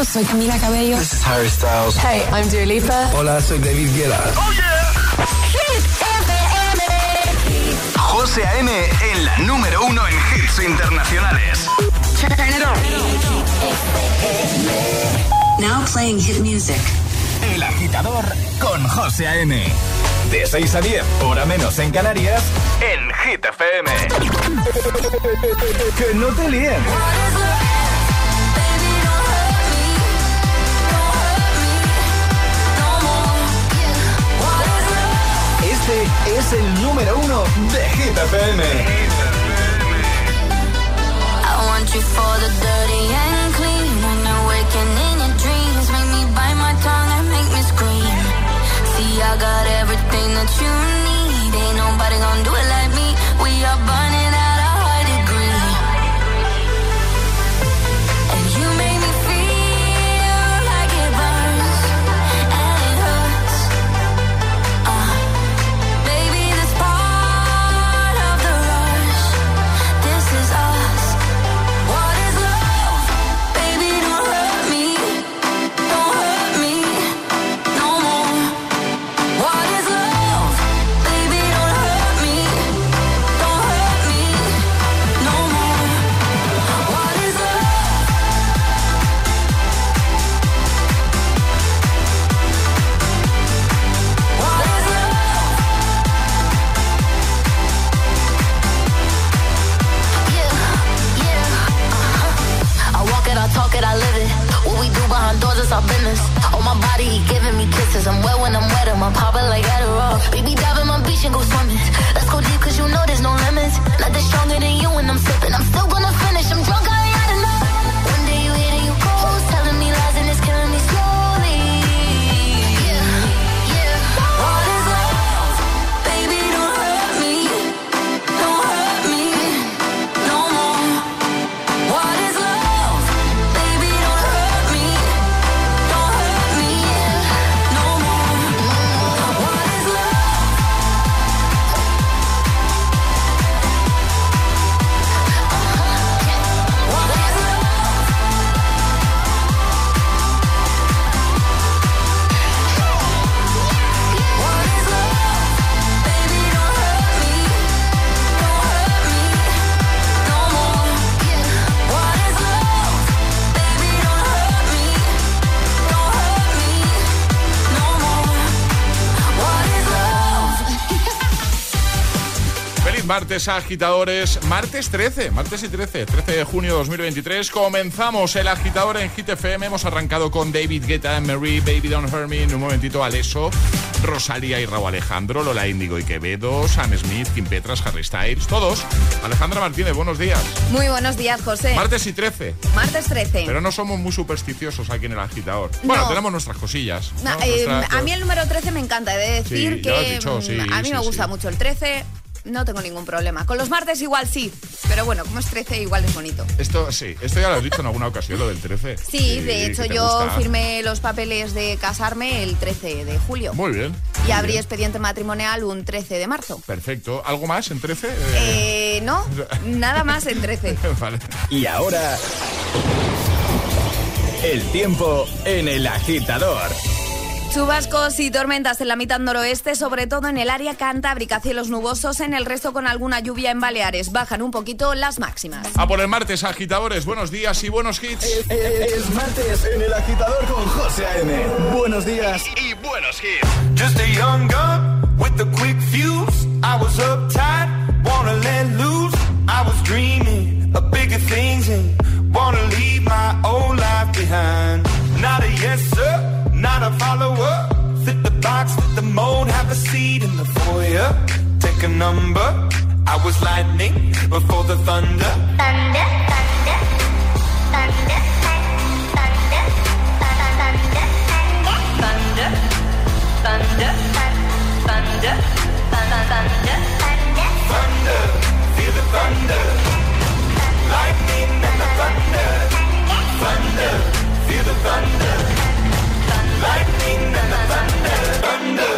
todos, soy Camila Cabello. This is Harry Styles. Hey, I'm Dua Lipa. Hola, soy David Guetta. ¡Oh, yeah! Hit FM. José A.M. en la número 1 en hits internacionales. Turn it on. Now playing hit music. El Agitador con José A.M. De 6 a 10, hora menos en Canarias, en Hit FM. Que no te líen. Este es el número 1 de Hit FM. I want you for the dirty and clean. When you're waking in your dreams, make me bite my tongue and make me scream. See, I got everything that you need. Ain't nobody gonna do it like me. We are burning at a high degree. And you make me feel like it burns and it hurts. Baby, this part of the rush. This is us. What is love? Baby, don't hurt me. Don't hurt me no more. What is love? Baby, don't hurt me. Don't hurt me no more. What is love? What is love? Yeah. I walk it, I talk it, I live it. What we do behind doors is our business. On my body, he giving me kisses. I'm wet when I'm wet, I'm popping like Adderall. Baby, dive in my beach and go swimming. Let's go deep, cause you know there's no limits. Nothing stronger than you when I'm sipping. I'm still gonna finish, I'm drunk, I ain't had enough. One day you hit and you close, telling me lies and it's killing me slowly. Yeah. What is love? Baby, don't hurt me. Don't hurt me no more. What is love? Baby, don't hurt me. Don't hurt me no more. What is love? What is love? What is love? Baby, don't hurt me. Don't hurt me no more. What is love? Baby, don't hurt me. Don't hurt me no more. What is love? Feliz martes, agitadores. Martes 13 de junio de 2023. Comenzamos el agitador en Hit FM. Hemos arrancado con David Guetta, Marie, Baby Don't Hurt Me. En un momentito, Alesso, Rosalía y Raúl Alejandro, Lola Índigo y Quevedo, Sam Smith, Kim Petras, Harry Styles, todos. Alejandra Martínez, buenos días. Muy buenos días, José. Martes y 13. Martes 13. Pero no somos muy supersticiosos aquí en el agitador. Bueno, No. tenemos nuestras cosillas, ¿no? A mí el número 13 me encanta. He de decir Sí, que ya lo has dicho, sí, a mí sí, me gusta sí. mucho el 13. No tengo ningún problema. Con los martes igual sí. Pero bueno, como es 13 igual es bonito. Esto ya lo has dicho en alguna ocasión, lo del 13. Sí, de hecho que te yo gusta. firmé los papeles de casarme el 13 de julio. Muy bien. Y muy abrí bien. expediente matrimonial un 13 de marzo. Perfecto. ¿Algo más en 13? No, nada más en 13. Vale. Y ahora, el tiempo en el agitador. Chubascos y tormentas en la mitad noroeste, sobre todo en el área cantábrica, cielos nubosos, en el resto con alguna lluvia en Baleares. Bajan un poquito las máximas. A por el martes, agitadores. Buenos días y buenos hits. Es martes en el agitador con José A.M. Buenos días Y buenos hits. Just a young gun with a quick fuse. I was uptight, wanna let loose. I was dreaming of bigger things and wanna leave my old life behind. Not a yes sir, not a follower. Fit the box, fit the mold, have a seat in the foyer. Take a number. I was lightning before the thunder. Thunder, thunder, thunder, thunder, thunder, thunder, thunder, thunder, Thunder, feel the thunder. Lightning and the thunder. Thunder, feel the thunder. Lightning and the thunder. Thunder,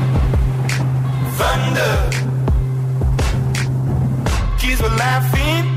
thunder. Thunder. Kids were laughing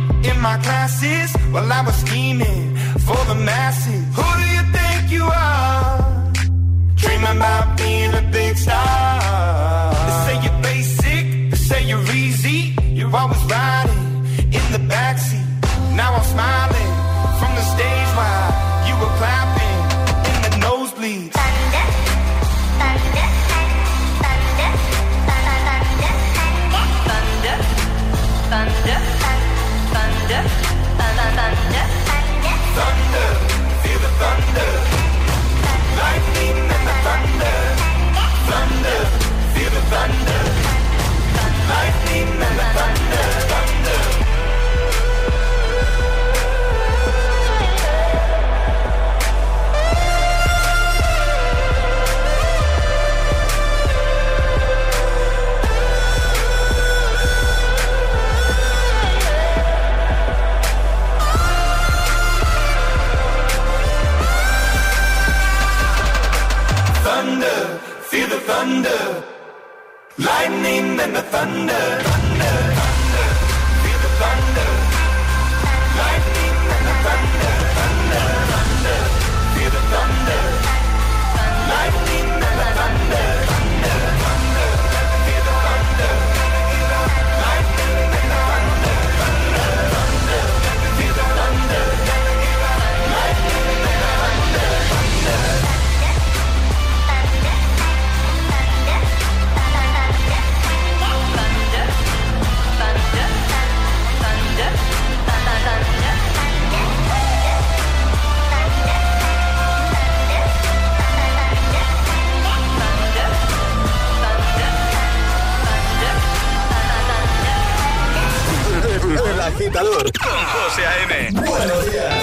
thunder, feel the thunder. Lightning and the thunder, thunder, thunder. Feel the thunder. Lightning and the thunder, thunder, thunder. Feel the thunder. Lightning and the thunder, thunder, thunder. Feel the thunder. Lightning and the thunder, thunder, thunder. Feel the thunder. Lightning and the thunder, thunder. El Agitador con José A.M. Buenos días.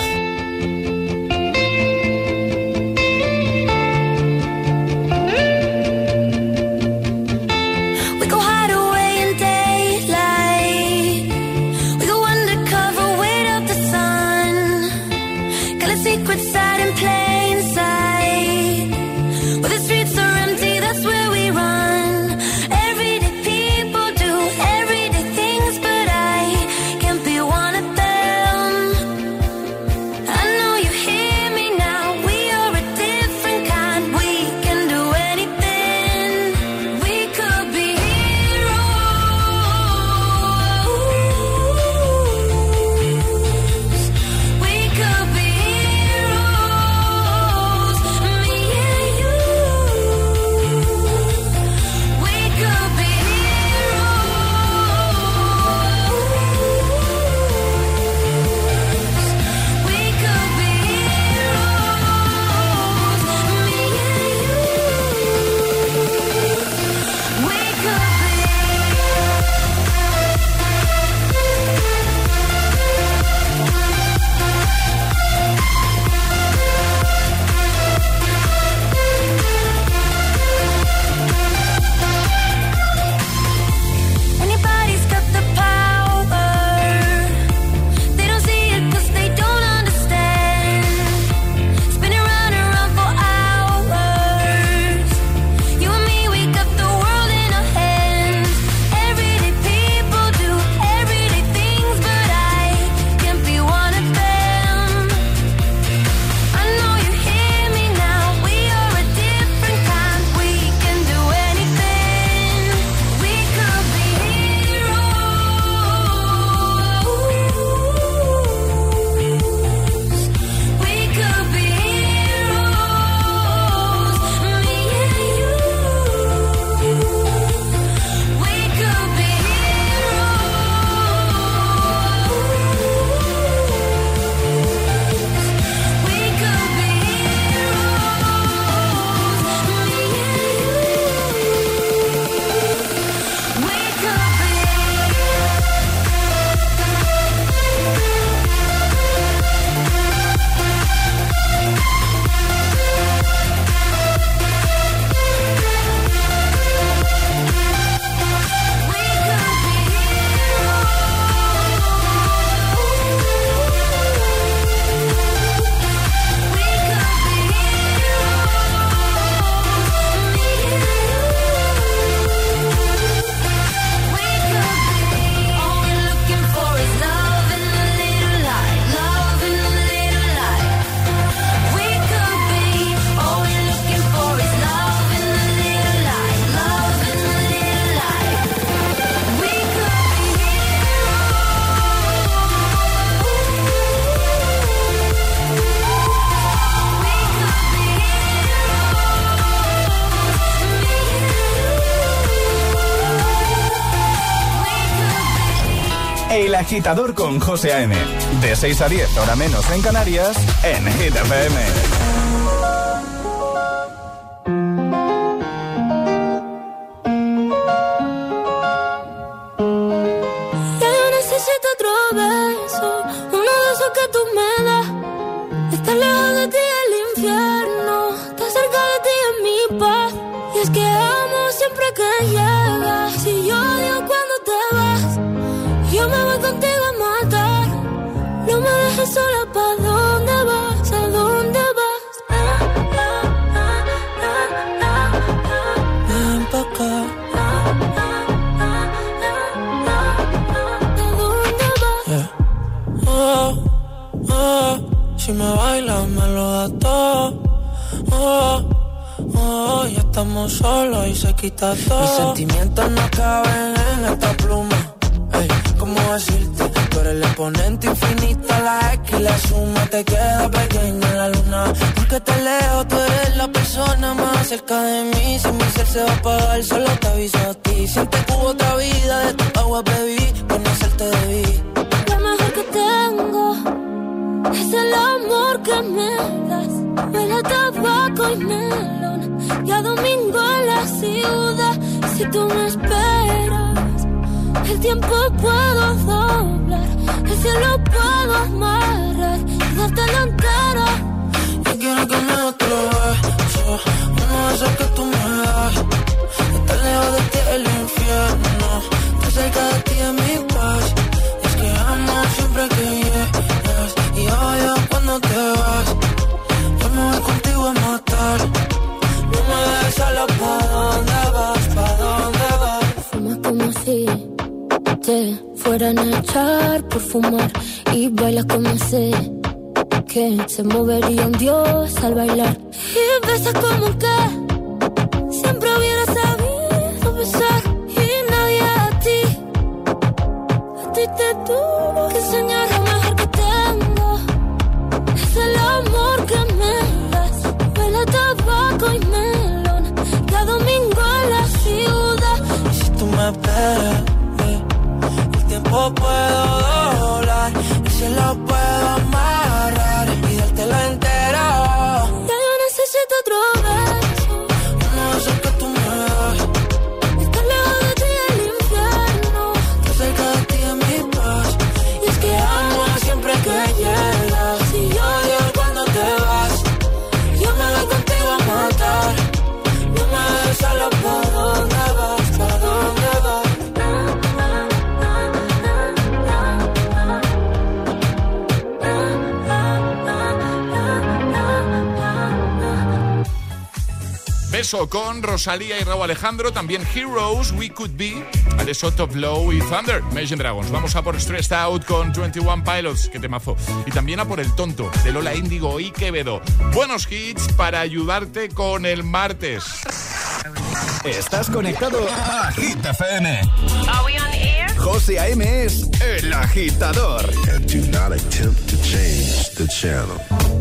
El Agitador con José A.M. De 6 a 10, hora menos en Canarias, en Hit FM. Ya yo necesito otro beso, uno de esos que tú me das. Estar lejos de ti es el infierno, estar cerca de ti es mi paz. Y es que amo siempre que llegas, si yo odio cuando te vas. Yo me voy contigo a matar, no me dejes sola, ¿pa' dónde vas? ¿A dónde vas? me bailas me lo das todo. Ya estamos solos y se quita todo. Mis sentimientos no caben en esta pluma. Ey, ¿cómo decirte? Tú eres el exponente infinito, la X y la suma te queda pequeña en la luna. Porque te lejos, tú eres la persona más cerca de mí. Si mi ser se va a apagar, solo te aviso a ti. Siente que hubo otra vida, de tu agua bebí, conocerte debí. Lo mejor que tengo es el amor que me das. Huele a tabaco y melón y a domingo en la ciudad. Si tú me esperas, el tiempo puedo doblar, el cielo puedo amarrar y darte la entera. Yo quiero que me des otro beso, uno de esos que tú me das. Estar lejos de ti es el infierno, estar cerca de ti es mi paz. Es que amo siempre que llegas y odio cuando te vas. Yo me voy contigo a matar, no me dejes sola. ¿Pa' dónde vas? ¿Pa' dónde vas? Fumas como si te fueran a echar por fumar y bailas como sé que se movería un dios al bailar. Y besas como que siempre hubiera sabido besar y nadie a ti te tuvo que enseñar. Lo mejor que tengo es el amor que me das. Huele a tabaco y melón y a domingo en la ciudad. Y si tú me esperas, el tiempo puedo doblar, el cielo puedo amarrar y dártelo entero. Ya yo necesito otro beso, uno de esos que tú me das. estar lejos de ti es el infierno, Estar cerca de ti es mi paz. Y es que amo siempre que llegas y odio cuando te vas. Yo me voy contigo a matar, no me dejes solo. ¿Pa' dónde vas? ¿Pa' dónde vas? Beso con Rosalía y Raúl Alejandro, también Heroes, We Could Be, A Shot of Low y Thunder, Imagine Dragons. Vamos a por Stressed Out con 21 Pilots, que temazo. Y también a por El Tonto, de Lola Índigo y Quevedo. Buenos hits para ayudarte con el martes. Estás conectado a Hit FM. José A.M. es el agitador. And do not attempt to change the channel.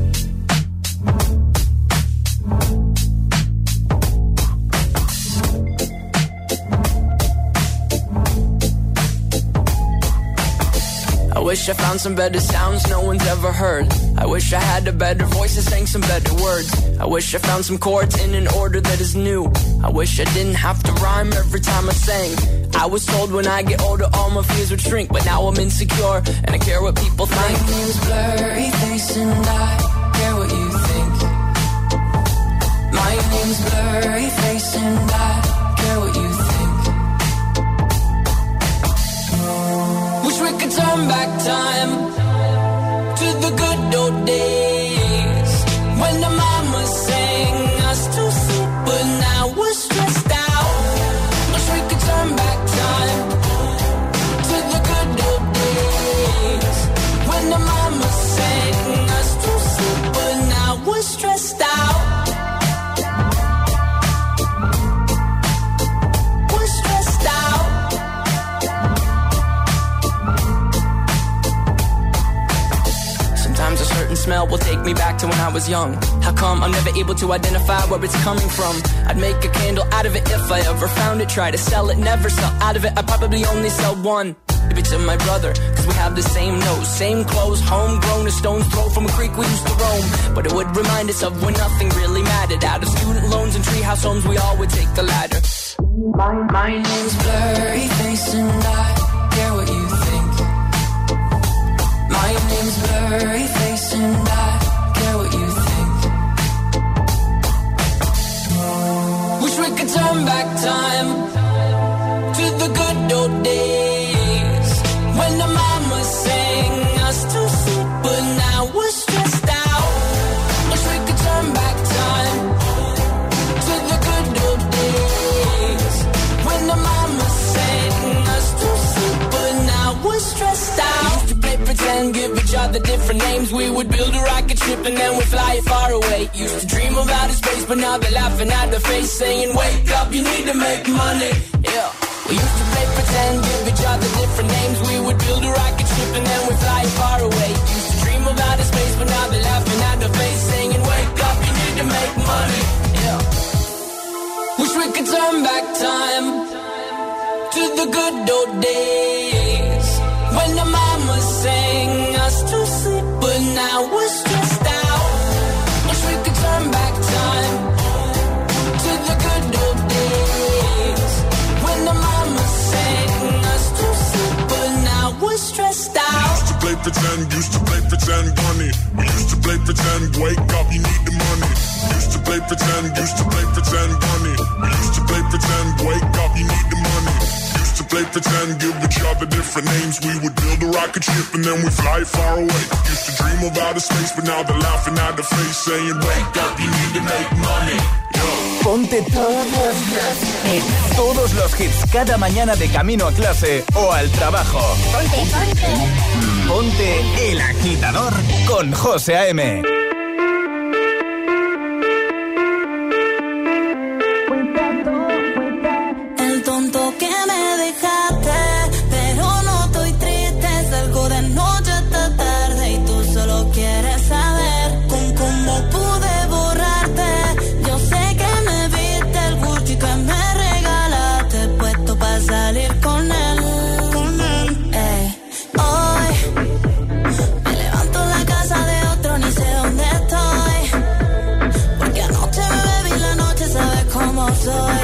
I wish I found some better sounds no one's ever heard. I wish I had a better voice and sang some better words. I wish I found some chords in an order that is new. I wish I didn't have to rhyme every time I sang. I was told when I get older all my fears would shrink, but now I'm insecure and I care what people think. My name's Blurry Face and I care what you think. My name's Blurry Face and I care what you think. Wish we could turn back time to the good old days when the mama sang us to sleep, but now we're stressed out. Wish we could turn back time to the good old days when the mama sang us to sleep, but now we're stressed out. We're stressed out. Sometimes a certain smell will take me back to when I was young. How come I'm never able to identify where it's coming from? I'd make a candle out of it if I ever found it. Try to sell it, never sell out of it. I'd probably only sell one. Maybe to my brother, cause we have the same nose, same clothes, homegrown, a stone's throw from a creek we used to roam. But it would remind us of when nothing really mattered. Out of student loans and treehouse homes, we all would take the ladder. My name's Blurry Face and I care what you think. My name's Blurry Face and I care what you think. Wish we could turn back time to the good old days when the mama sang us to sleep, but now we're stressed out. Wish we could turn back time to the good old days when the mama sang us to sleep, but now we're stressed out. We used to play pretend, give each other the different names. We would build a rocket ship and then we'd fly it far away. Used to dream of outer space, but now they're laughing at the face, saying, wake up, you need to make money. Yeah. We used to play pretend, give each other different names. We would build a rocket ship and then we'd fly it far away. Used to dream of outer space, but now they're laughing at the face, saying, wake up, you need to make money. Yeah. Wish we could turn back time to the good old days when the mama sang us to sleep, but now we're stressed out. Wish we could turn back time to the good old days when the mama sang us to sleep, but now we're stressed out. Used to play pretend, bunny. We used to play pretend, wake up, you need the money. Used to play pretend, bunny. We used to play pretend, wake up, you need the money. Used to play pretend, give each other different names. We would build a rocket ship and then we fly far away. Used to dream of outer space, but now they're laughing at the face, saying, wake up, you need to make money. Ponte todos los hits cada mañana de camino a clase o al trabajo. Ponte El Agitador con José A.M. El tonto que me dejaste, pero no estoy triste. Salgo de noche hasta tarde y tú solo quieres saber con cómo pude borrarte. Yo sé que me viste el Gucci que me regalaste, puesto para salir con él. Hoy me levanto en la casa de otro, ni sé dónde estoy, porque anoche me bebí la noche, sabes cómo soy.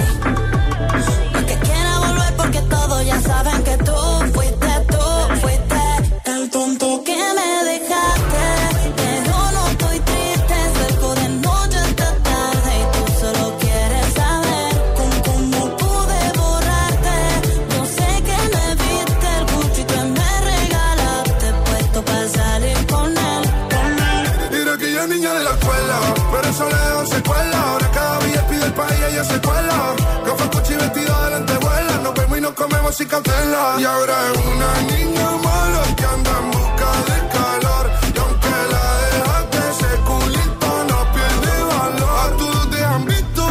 Porque todos ya saben que tú fuiste el tonto que me dejaste. Pero no estoy triste, salgo de noche hasta tarde y tú solo quieres saber con cómo pude borrarte. Yo sé que me viste el Gucci que me regalaste, puesto para salir con él. Era aquella niña de la escuela, pero eso le dejó secuela. Ahora cada día pide el país y ella se cuela. Gafas, Gucci, vestido de lentejuela. Nos vemos y nos comemos sin cautela. Y ahora es una niña mala que anda en busca de calor. Y aunque la dejaste, ese culito no pierde valor. A todos te han visto.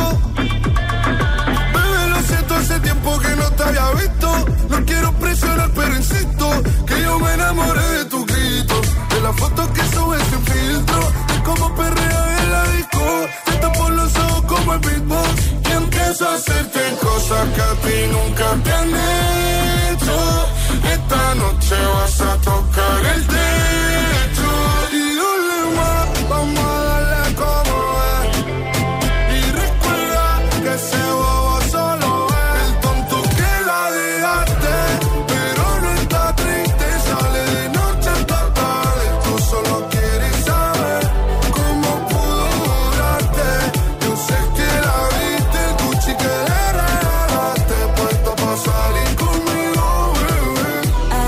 Bebé, lo siento, hace tiempo que no te había visto. No quiero presionar, pero insisto que yo me enamoré de tu grito, de la foto que subes sin filtro, de cómo perrea en la disco. Te tapo los ojos como el beatbox y empiezo a hacerte cosas que a ti nunca te han hecho. Esta noche vas a tocar el techo y dale más, vamos a darle como es. Y recuerda que ese bobo solo es el tonto que la dejaste, pero no está triste, sale de noche hasta tarde. Tú solo quieres saber cómo pudo durarte. Yo sé que la viste, el Gucci que le regalaste, puesto para salir conmigo, bebé.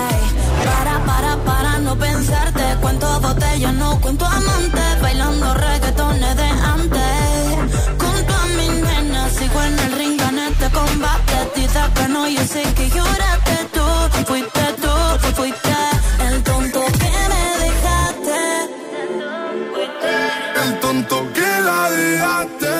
Para no pensarte. Cuento botellas, no cuento amantes. Bailando reggaetones de antes. Junto a mi nena, sigo en el ring, gané este combate. Dice que no, yo sé que lloraste tú. Fuiste el tonto que me dejaste. El tonto que la dejaste.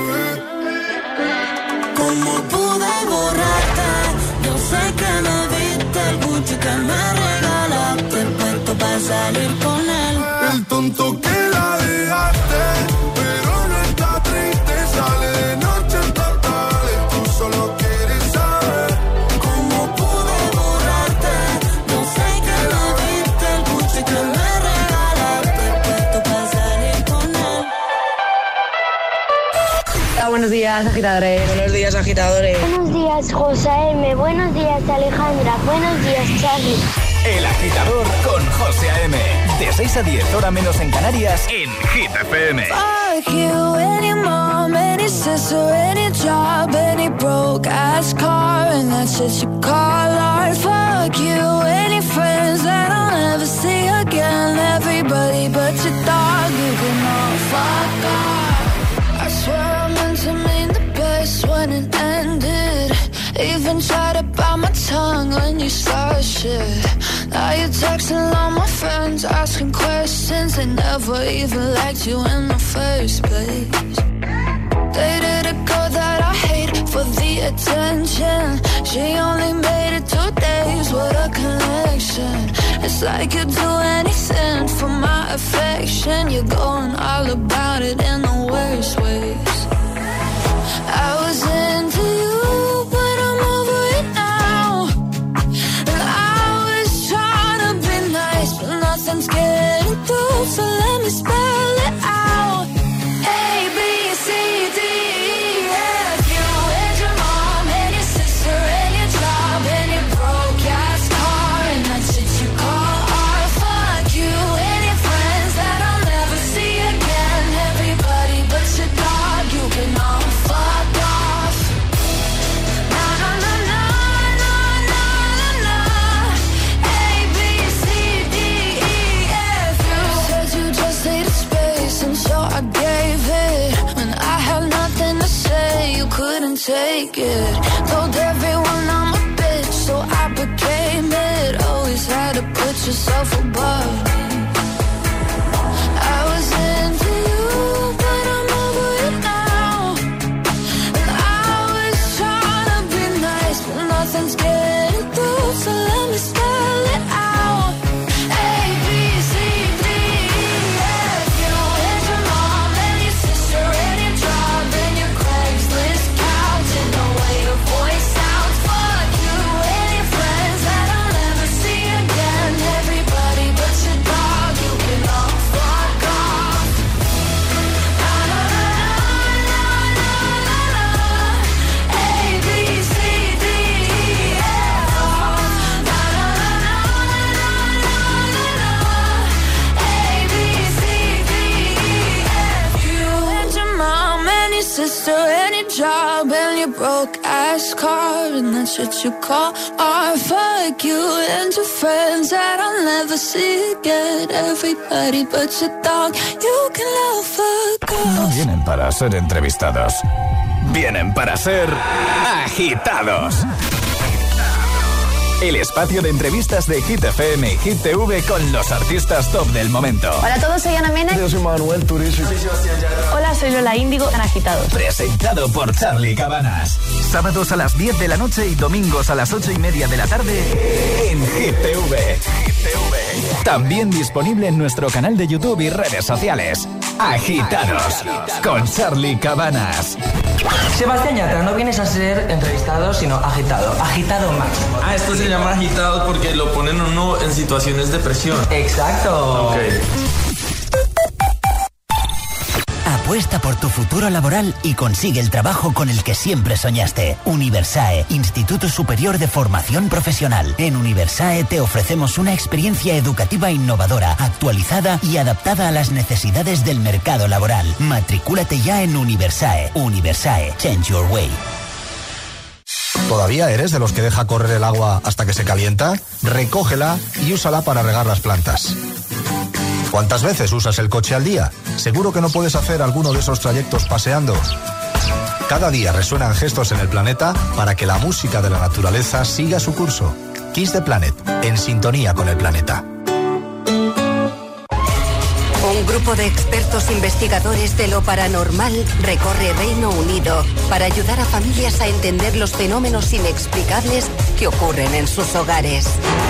¿Cómo pude borrarte? Yo sé que me viste el Gucci que me regalaste, puesto para salir con él. El tonto que la dejaste, pero no está triste, sale de noche hasta tarde. Tú solo quieres saber cómo pude borrarte. Yo sé que me viste el Gucci que me regalaste, puesto para salir con él. Buenos días, agitadores. Buenos días, agitadores. Buenos días, José M. Buenos días, Alejandra. Buenos días, Charlie. El Agitador con José A.M. De 6 a 10, hora menos en Canarias, en Hit FM. Fuck you, any mom, any sister, any job, any broke ass car, and that's just you call art. Fuck you, any friends that I'll never see again. Everybody but your dog, you can all fuck off. I swear I meant to mean the best when it ended. Even tried to bite my tongue when you started shit. Now you're texting all my friends asking questions. They never even liked you in the first place. Dated a girl that I hate for the attention. She only made it 2 days, what a connection. It's like you'd do anything for my affection. You're going all about it in the worst ways. I was into you, but I'm over it now. And I was trying to be nice, but nothing's getting through. So let me spell it out. A, B, C, D, E, F. You and your mom and your sister and your job and your broke-ass car and that shit you call art. Fuck you and your friends that I'll never see again. Everybody but your dog, you can all fuck off. Na na na na na na na na. A, B, C, D, E, F. You said you just needed space, and so I gave it. When I had nothing to say, you couldn't take it. Told everyone I'm a bitch, so I became it. Always had to put yourself above me. I was into you, but I'm over it now. And I was trying to be nice, but nothing's getting through. So let me spell it out. A, B, C, D, E, F. You and your mom and your sister and your job and your Craigslist couch and the way your voice sounds. Fuck you and your friends that I'll never see again. Everybody but your dog, you can all fuck off. Na na na na na na na. A, B, C, D, E, F. Na na na na na na na. A, B, C, D, E, F. You and your mom and your sister and your job and your broke-ass car and that shit you call art. Fuck you and your friends that I'll never see again. Everybody but your dog, you can all fuck No off. vienen para ser entrevistados. Vienen para ser agitados. El espacio de entrevistas de Hit FM y Hit TV con los artistas top del momento. Hola a todos, soy Ana Mena. Yo soy Manuel Turizo. Hola, soy Lola Índigo, en Agitados. Presentado por Charlie Cabanas. Sábados a las 10 de la noche y domingos a las 8:30 de la tarde en Hit TV. También disponible en nuestro canal de YouTube y redes sociales. Agitados con Charlie Cabanas. Sebastián Yatra, no vienes a ser entrevistado, sino agitado. Agitado máximo. Ah, esto se llama agitado porque lo ponen uno en situaciones de presión. Exacto. Ok. Apuesta por tu futuro laboral y consigue el trabajo con el que siempre soñaste. Universae, Instituto Superior de Formación Profesional. En Universae te ofrecemos una experiencia educativa innovadora, actualizada y adaptada a las necesidades del mercado laboral. Matricúlate ya en Universae. Universae, change your way. ¿Todavía eres de los que deja correr el agua hasta que se calienta? Recógela y úsala para regar las plantas. ¿Cuántas veces usas el coche al día? ¿Seguro que no puedes hacer alguno de esos trayectos paseando? Cada día resuenan gestos en el planeta para que la música de la naturaleza siga su curso. Kiss the Planet, en sintonía con el planeta. Un grupo de expertos investigadores de lo paranormal recorre Reino Unido para ayudar a familias a entender los fenómenos inexplicables que ocurren en sus hogares.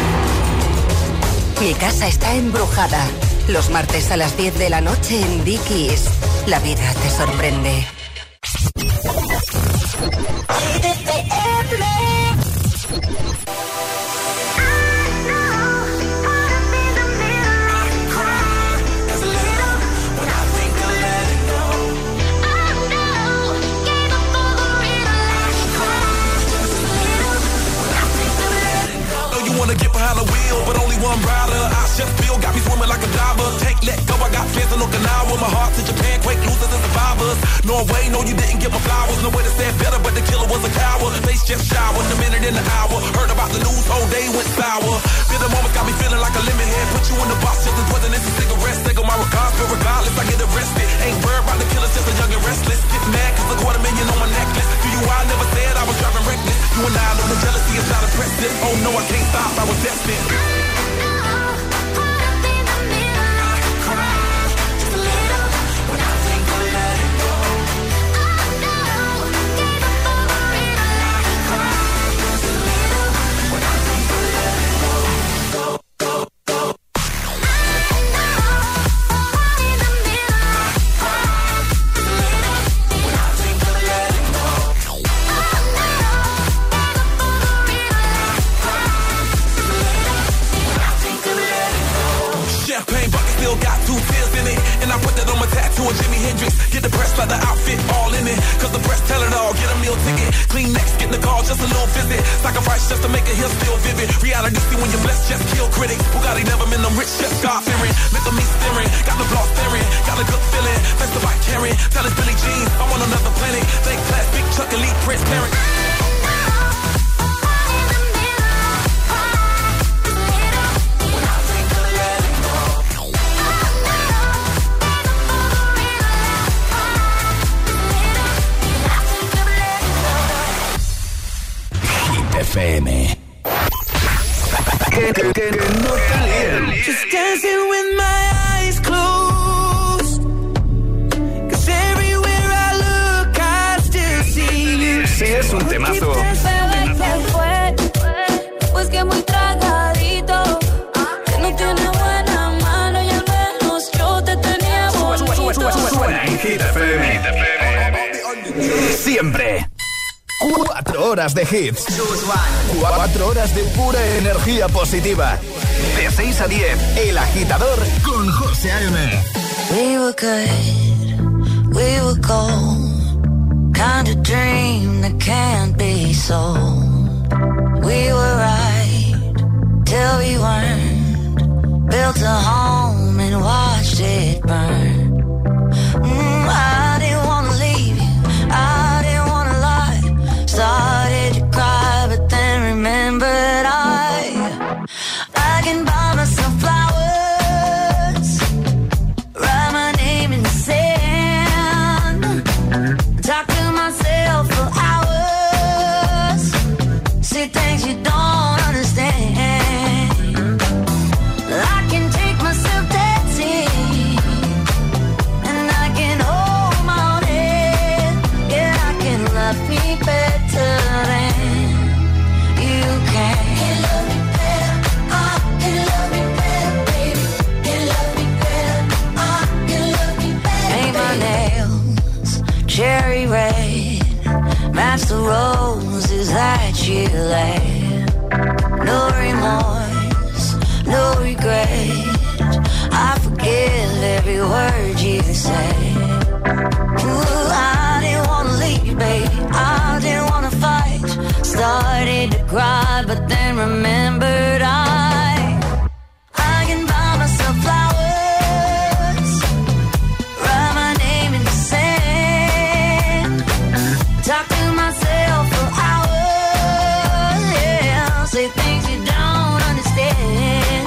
Mi casa está embrujada. Los martes a las 10 de la noche en Dickies. La vida te sorprende. Wanna get behind the wheel, but only one rider. I just feel got me swimming like a diver. Take, let go, I got fans in Okinawa. My heart to Japan, quake losers and survivors. Norway, no, you didn't get my flowers. No way to say it better, but the killer was a coward. Face just showered, a minute in the hour. Heard about the news, whole day went sour. Feel the moment got me feeling like a lemon head. Put you in the box, just as wasn't this a cigarette. Take on my regards, but regardless, I get arrested. Ain't worried about the killers, just a young and restless. Get mad, cause $250,000 on my necklace. To you, I never said I was driving reckless. You and I know the jealousy is not impressive. Oh no, I can't stop, I was destined. Hendrix. Get the press like the outfit all in it. Cause the press tell it all. Get a meal ticket. Clean next, get in the car, just a little visit. Sacrifice just to make it here still vivid. Reality see when you're blessed, just kill critics. Bugatti never been them rich, just God fearing. Look at me staring, got the block staring. Got a good feeling, that's the bike carrying. Tell us Billie Jean, I'm on another planet. Thank class, big Chuck, elite, transparent. FM. Que no te líen. Just dancing with my eyes closed. 'Cause everywhere I look, I still see you. Sí, es un temazo. Pues que muy tragadito, que no tiene buena mano y al menos yo te tenía bonito. Suena en Hit FM. Siempre. 4 horas de hits. 4 horas de pura energía positiva. De 6 a 10, El Agitador con José A.M. We were good, we were gold. Kind of dream that can't be sold. We were right till we weren't. Built a home and watched it burn. I didn't wanna leave you, I didn't wanna lie. Started to cry, but then remembered I can buy myself flowers, write my name in the sand, talk to myself for hours, see things you don't understand. I can take myself dancing, and I can hold my own head. Yeah, I can love me better than you can. Can love me better, I can love me better, baby. Can love me better, I can love me better. Paint my nails cherry red, match the roses that you laid. No remorse, no regret. I forgive every word you say. Ooh, I didn't wanna leave, babe. I didn't wanna fight. Started to cry, but then remembered I can buy myself flowers, write my name in the sand, talk to myself for hours, yeah, say things you don't understand.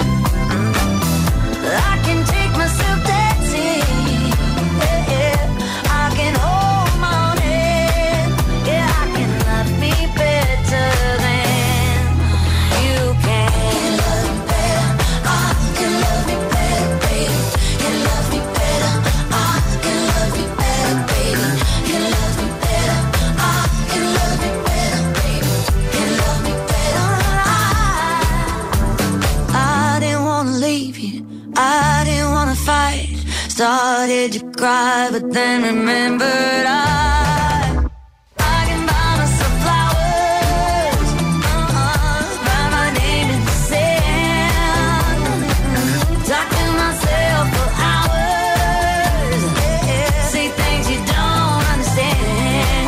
I can take myself dancing, yeah, I can hold my own head, yeah, I can love me better than you can. Can love me better, I can love me better, baby. Can love me better, I can love me better, baby. Can love me better, I can love me better, baby. Can love me better, I didn't wanna leave you, I didn't wanna fight. Started to cry, but then remembered I can buy myself flowers, write my name in the sand, talk to myself for hours, yeah, say things you don't understand.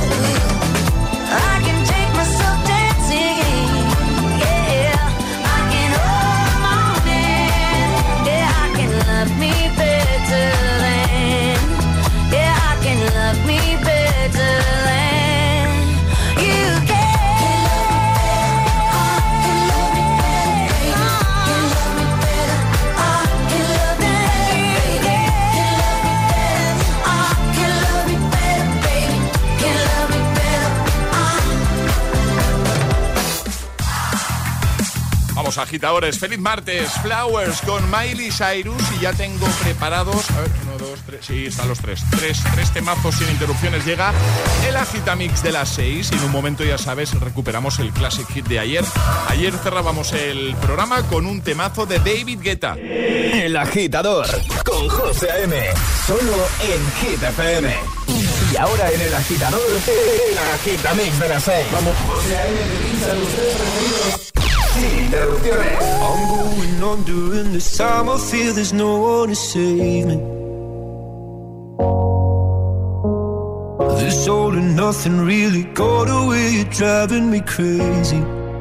I can take myself dancing, yeah, I can hold my own hand, yeah, I can love me better than, yeah, I can love me better than you can. Can love me better, I can love me better, I can love me better, baby. Can love me better, Vamos, agitadores, feliz martes. Flowers con Miley Cyrus. Y ya tengo preparados, a ver, 1, 2, 3, sí, están los tres temazos sin interrupciones. Llega el Agitamix de las 6 y en un momento, ya sabes, recuperamos el Classic Hit de ayer. Ayer cerrábamos el programa con un temazo de David Guetta. El Agitador con José A.M. Solo en Hit FM. Y ahora en El Agitador, el Agitamix de las 6. Vamos, José A.M. te pincha los 3 preferidos sin interrupciones. I'm going on during this time. I feel there's no one to save me. This all and nothing really got away, you're driving me crazy.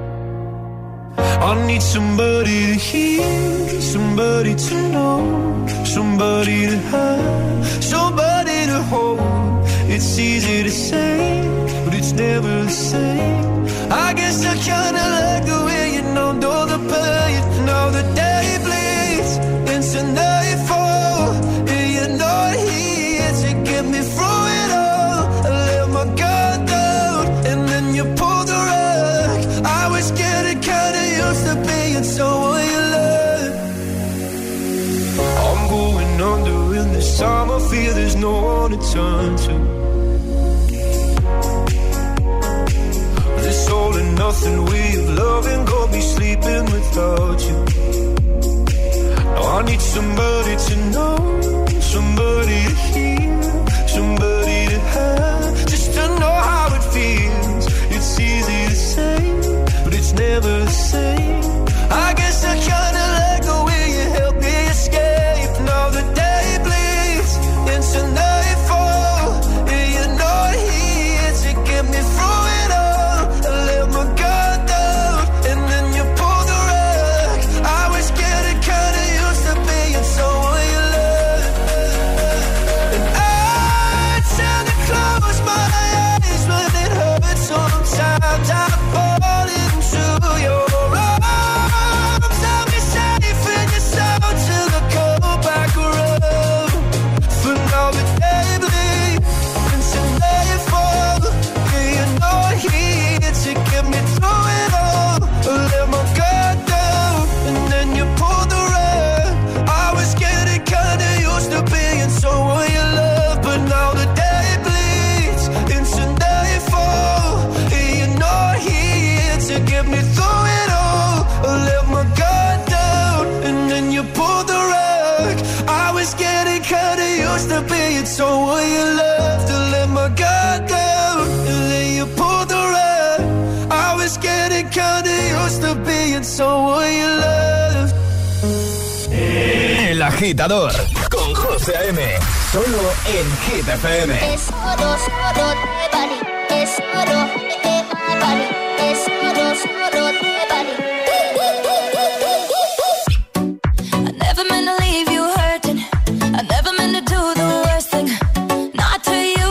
I need somebody to hear, somebody to know, somebody to have, somebody to hold. It's easy to say, but it's never the same. I guess I kinda like the way you know the pain. Now the day bleeds into nightfall, and you're not here to get me through it all. I let my guard down, and then you pulled the rug. I was getting kinda used to being someone you love. I'm going under in this time, I feel there's no one to turn to. This all and nothing way of loving got me sleeping without you. Now I need somebody to know, somebody to hear, somebody to have, just to know how it feels. It's easy to say, but it's never the same. I guess I kinda like the way you help me escape. Now the day bleeds into nightfall, and you're not here to get me through it all. I let my guard down, and then you pulled the rug. I was getting kinda used to being someone you love. And I tend to close my eyes when it hurts. Sometimes I fall into your arms. I'll be safe in your soul till I come back around. For now the day bleeds into nightfall, and you're not here to get me through it all. I let my guard down, and then you pulled the rug. I was getting kinda used to being someone you love, but now the day bleeds into nightfall, and you're not here to get me through it all. I let my guard down, and then you pulled the rug. I was getting kinda used to being someone you loved. I let my guard down, and then you pulled the rug. I was getting kinda used to being someone you loved. El Agitador con José A.M. Solo en Hit FM. Es oro, solo de Bali. Es oro, de Bali. Es oro, solo de Bali. I never meant to leave you hurting. I never meant to do the worst thing. Not to you.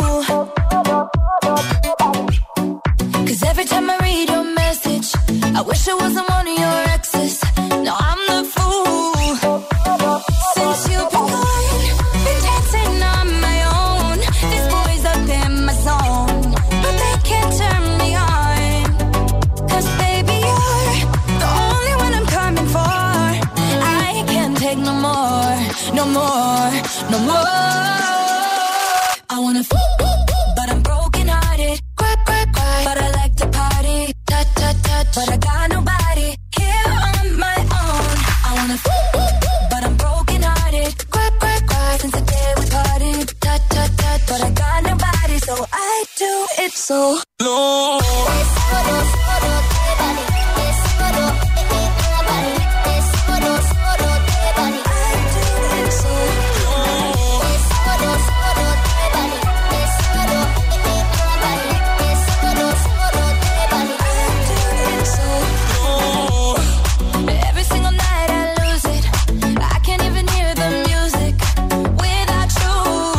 'Cause every time I read your message, I wish I wasn't one of your exes. No, I'm the fool. Since you've been gone, been dancing on my own. This boy's up in my zone, but they can't turn me on. 'Cause baby, you're the only one I'm coming for. I can't take no more, no more, no more. I wanna but I'm broken hearted. Cry, cry, cry, but I like to party. Touch, touch, touch, but I got nobody here on my own. I wanna but I'm broken hearted. Cry, cry, cry, since the day we parted. Touch, touch, touch, but I got nobody, so I do it so low. Es oro, solo de Bali. Es oro, de Bali. Es oro, solo de Bali. I do it so low. Es oro, solo de Bali. Es oro, de Bali. Es oro, solo de Bali. I do it so low. Every single night I lose it. I can't even hear the music without you.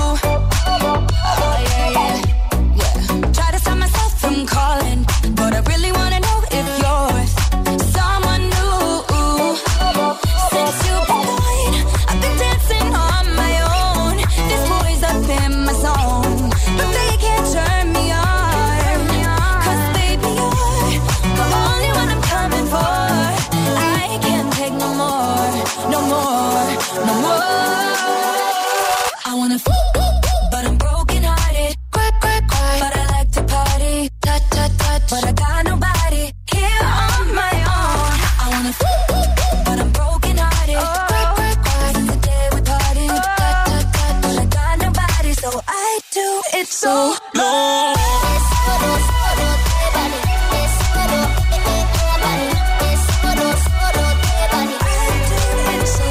Oh yeah, yeah, yeah. Try to stop myself from calling, but I really wanna know if you're with someone new. Since you've been gone, I've been dancing on my own. This boy's up in my zone, but they can't turn me on. 'Cause baby, you're the only one I'm coming for. I can't take no more, no more, no more. I wanna but I'm broken hearted. Cry, cry, cry, but I like to party. Touch, touch, touch, but I got nobody here on my own. I wanna but I'm broken hearted. Cry, cry, cry, since the day we parted. Touch, touch, touch, but I got nobody, so I do it so low. Es oro, solo de Bali. Es oro, de Bali. Es oro, solo de Bali. I do it so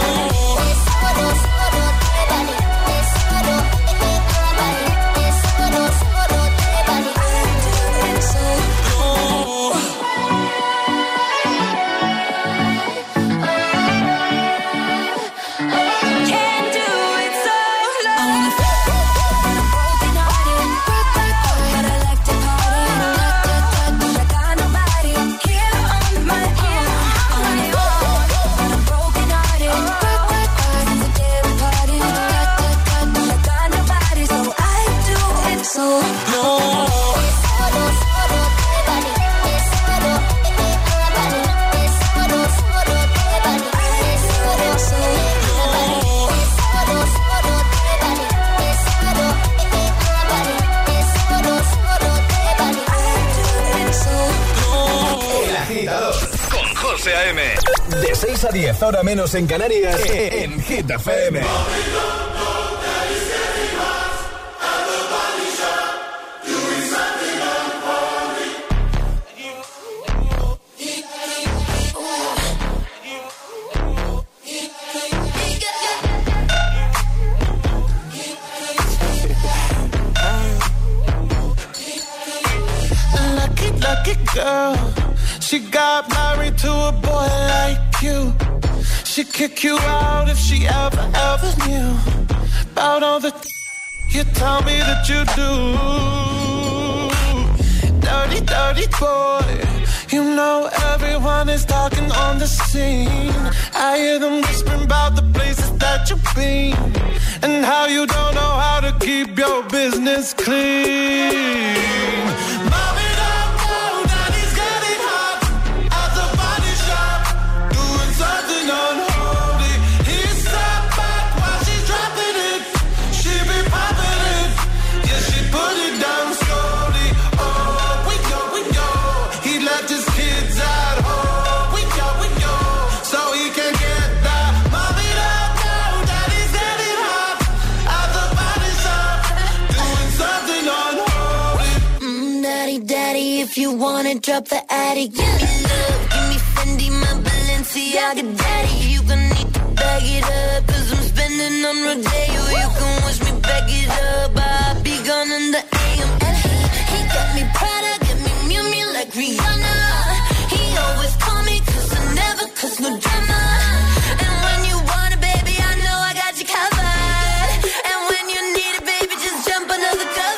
low. Es oro, solo de Bali. Es oro, de Bali. Es oro, De 6 a 10, hora menos en Canarias, en Hit FM. Lucky girl, she got married to a boy like you. She'd kick you out if she ever knew about all the you tell me that you do. Dirty, dirty boy, you know everyone is talking on the scene. I hear them whispering about the places that you've been and how you don't know how to keep your business clean. Mommy, if you wanna drop the attic, give me love, give me Fendi, my Balenciaga daddy. You gon' need to bag it up, 'cause I'm spending on Rodeo. You can wish me back it up, I'll be gone in the AM. And he got me Prada, got me Miu Miu like Rihanna. He always call me 'cause I never cause no drama. And when you want it, baby, I know I got you covered. And when you need it, baby, just jump under the covers.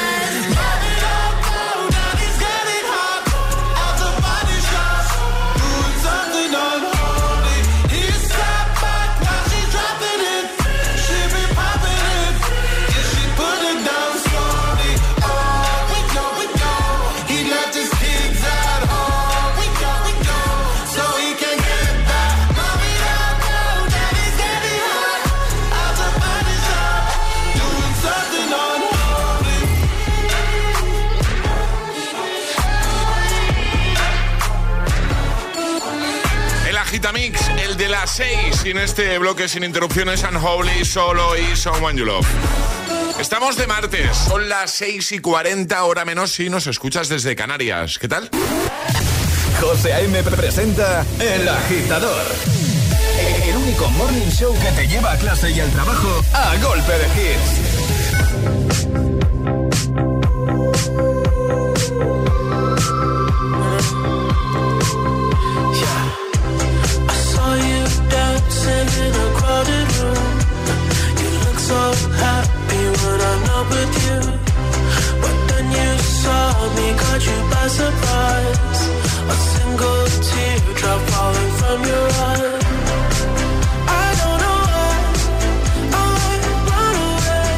Mix, el de las 6, y en este bloque sin interrupciones, Unholy, Solo y Someone You Love. Estamos de martes, son las 6:40, hora menos si nos escuchas desde Canarias. ¿Qué tal? José A.M. presenta El Agitador, el único morning show que te lleva a clase y al trabajo a golpe de hits. In a crowded room, you look so happy when I'm not with you. But then you saw me, caught you by surprise. A single teardrop falling from your eye. I don't know why I run away.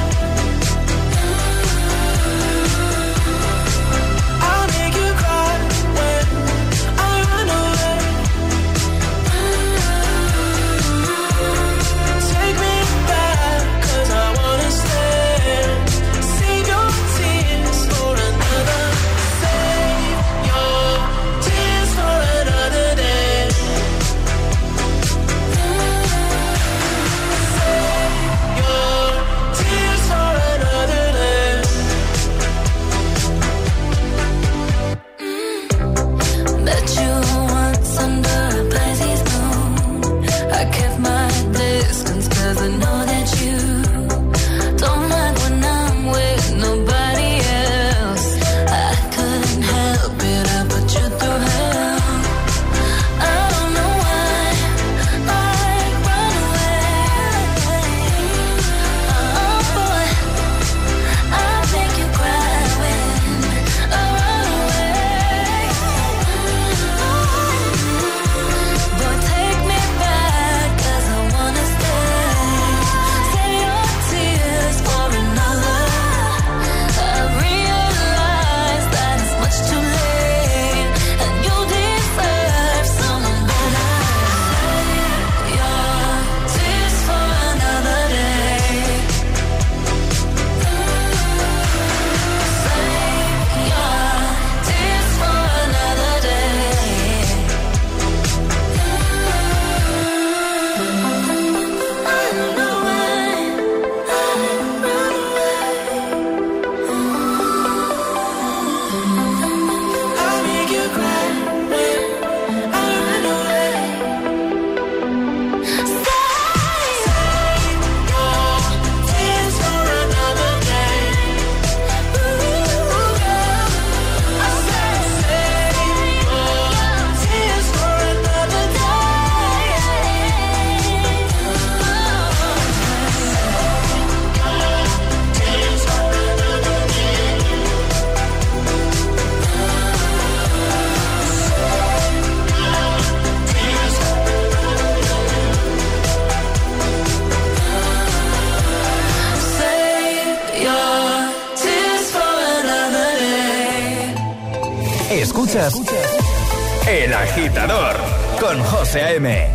Escuchas El Agitador con José A.M.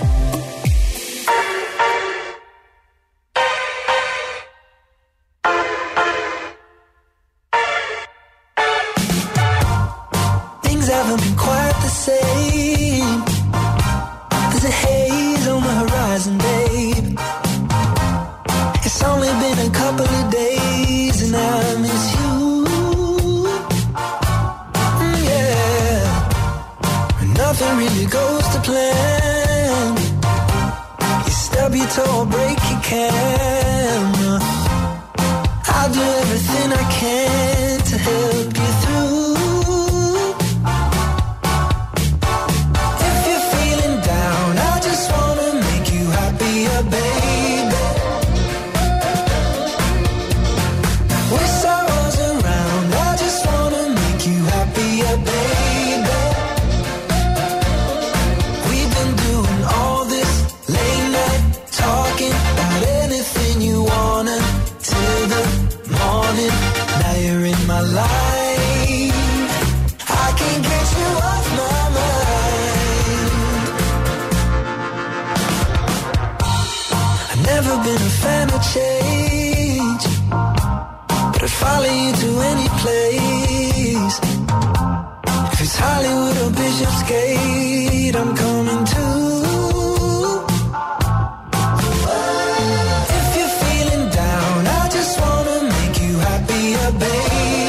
Things haven't been quite the same. There's a haze on the horizon, babe. It's only been a couple of days and I miss you. Nothing really goes to plan. You stub your toe or break your camera. I'll do everything I can to help you through. If you're feeling down, I just wanna make you happier, baby. With sorrows around, I just wanna make you happier, baby. My life, I can't get you off my mind. I've never been a fan of change, but I'd follow you to any place. If it's Hollywood or Bishopsgate, I'm coming too. If you're feeling down, I just wanna make you happier, baby.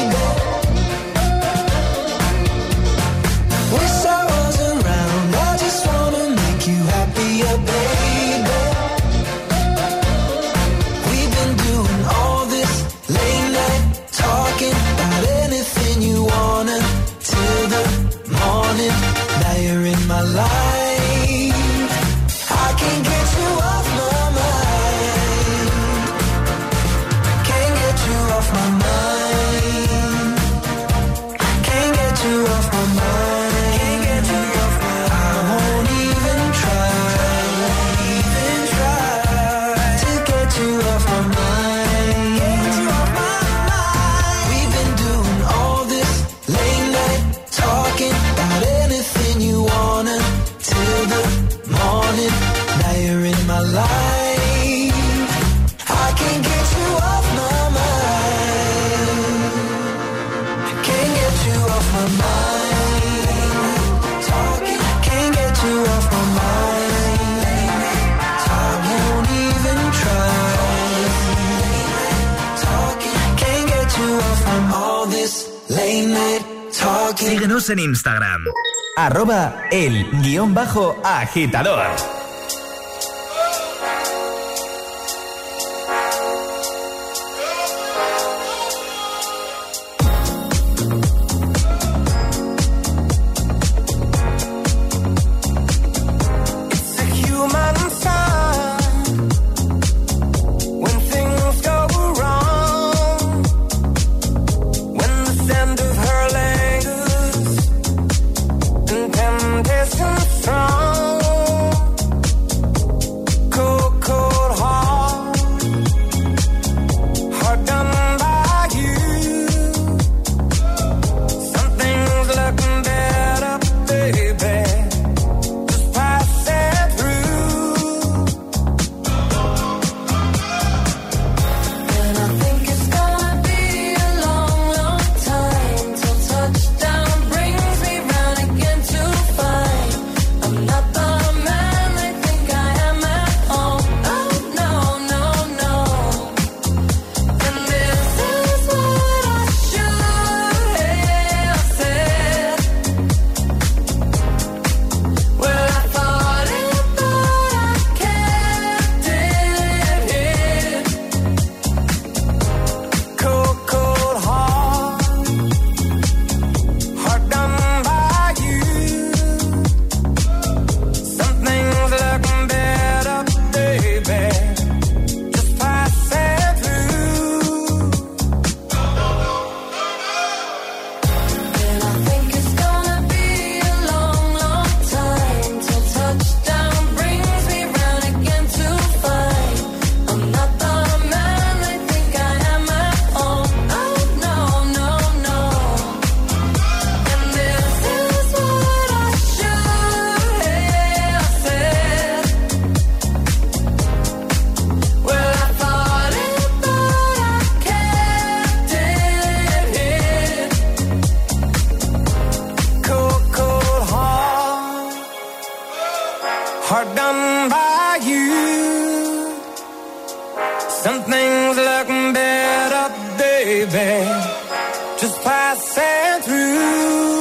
My life, I can't get you off my mind. Can't get you off my mind. Can't get you off my mind. Can't get you off my mind. I won't even try to get you off my mind. Get you off my mind. We've been doing all this late night talking about anything you want. Till the morning, now you're in my life. I can't get you off my mind. I can't get you off my mind. Talking, can't get you off my mind. I won't even try. Talking, can't get you off from all this late night talking. Síguenos en Instagram. @el_agitador. Strong baby, just passing through.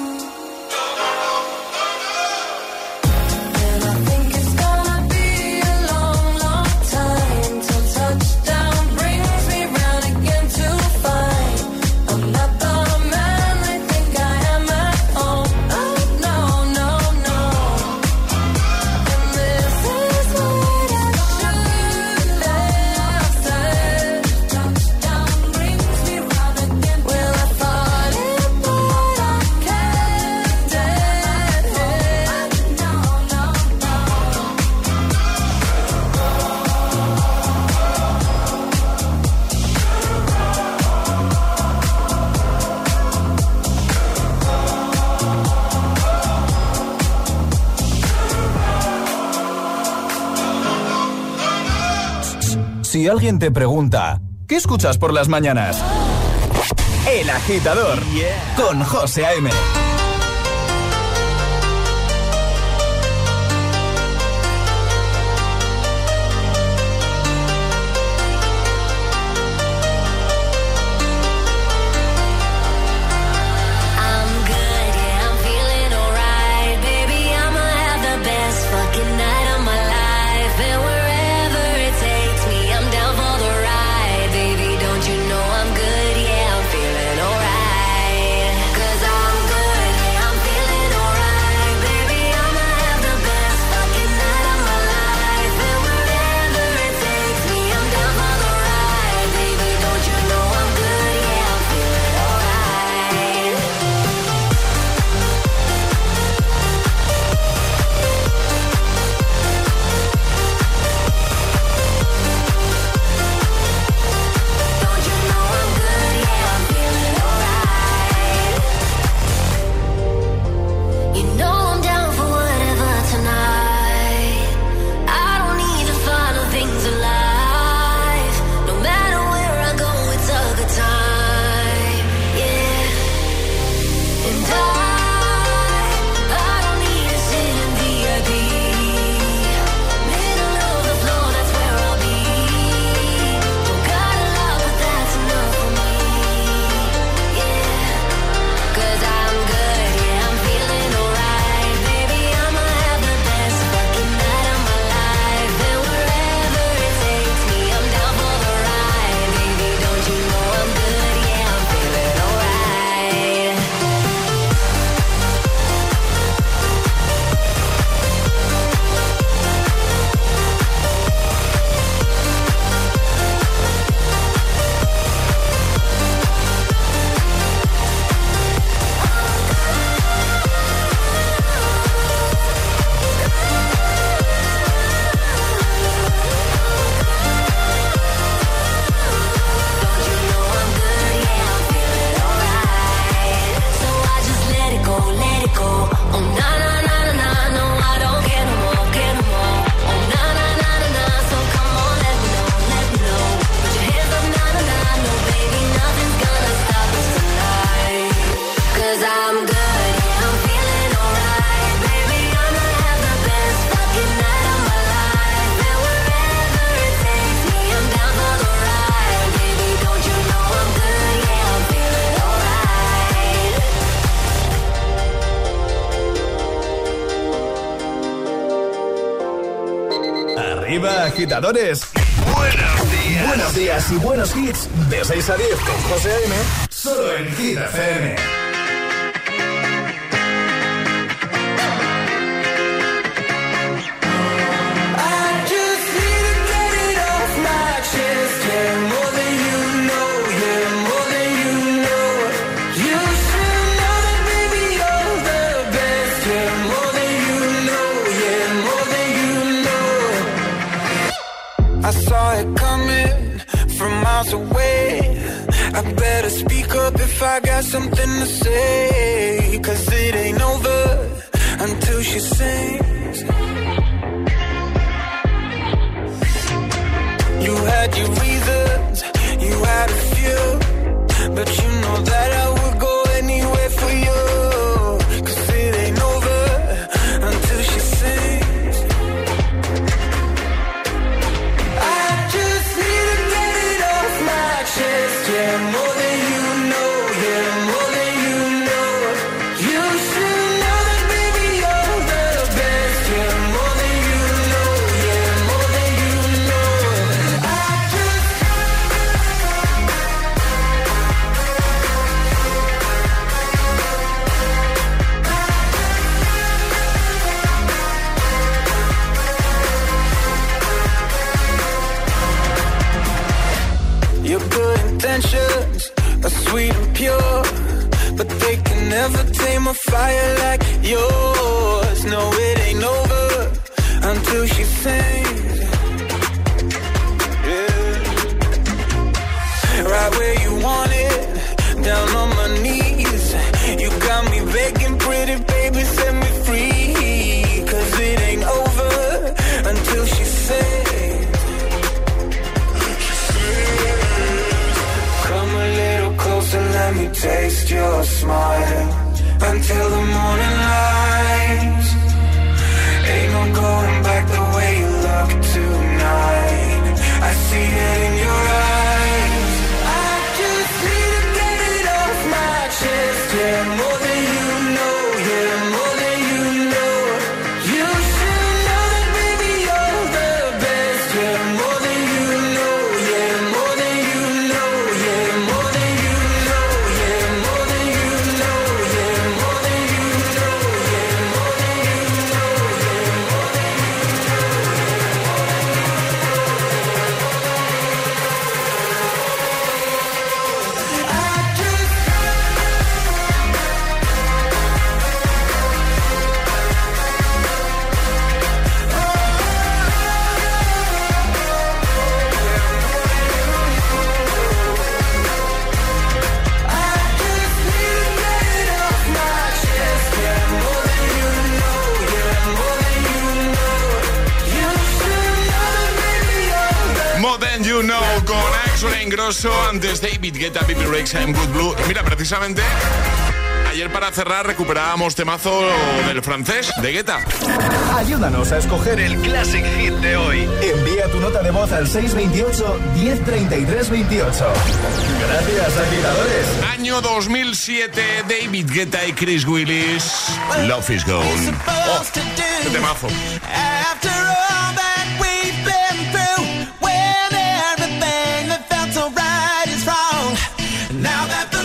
Si alguien te pregunta, ¿qué escuchas por las mañanas? El Agitador, con José A.M. Arriba, agitadores. Buenos días. Buenos días y buenos hits. De 6 a 10 con José A.M. Solo en Hit FM. I saw it coming from miles away. I better speak up if I got something to say. 'Cause it ain't over until she sings. You had your reasons, you had a few, but you know that I would go anywhere for you. 'Cause it ain't over until she sings. I just need to get it off my chest. yeah, more than you know, yeah, more than you know. You should know that, baby, you're the best, yeah, more than you know, yeah, more than you know. I just your good intentions are sweet and pure, but they can never tame a fire like yours. No, it ain't over until she sings. Yeah. Right where you want it, down on my knees. You got me begging, pretty baby, set me free. 'Cause it ain't over until she sings. Come a little closer, let me taste your smile. Until the morning light. Ain't no going back the way you look tonight. I see it in your eyes. I just need to get it off my chest. Yeah, more than you know, yeah, more than you know. You should know that, baby, you're the best. Yeah, more than you know, yeah, more than you know, yeah, more than you know, yeah, more than you know, yeah, more than you know, yeah, more than you know, yeah, more than you More Than You Know con Axel Ingrosso, antes David Guetta, Pippi Rexha en Good Blue. Mira, precisamente ayer para cerrar recuperábamos temazo del francés de Guetta. Ayúdanos a escoger el Classic Hit de hoy. Envía tu nota de voz al 628 1033 28. Gracias, agitadores. Año 2007, David Guetta y Chris Willis, Love Is Gone. Oh, qué temazo. After all that we've been through, when everything that felt so right is wrong, now that the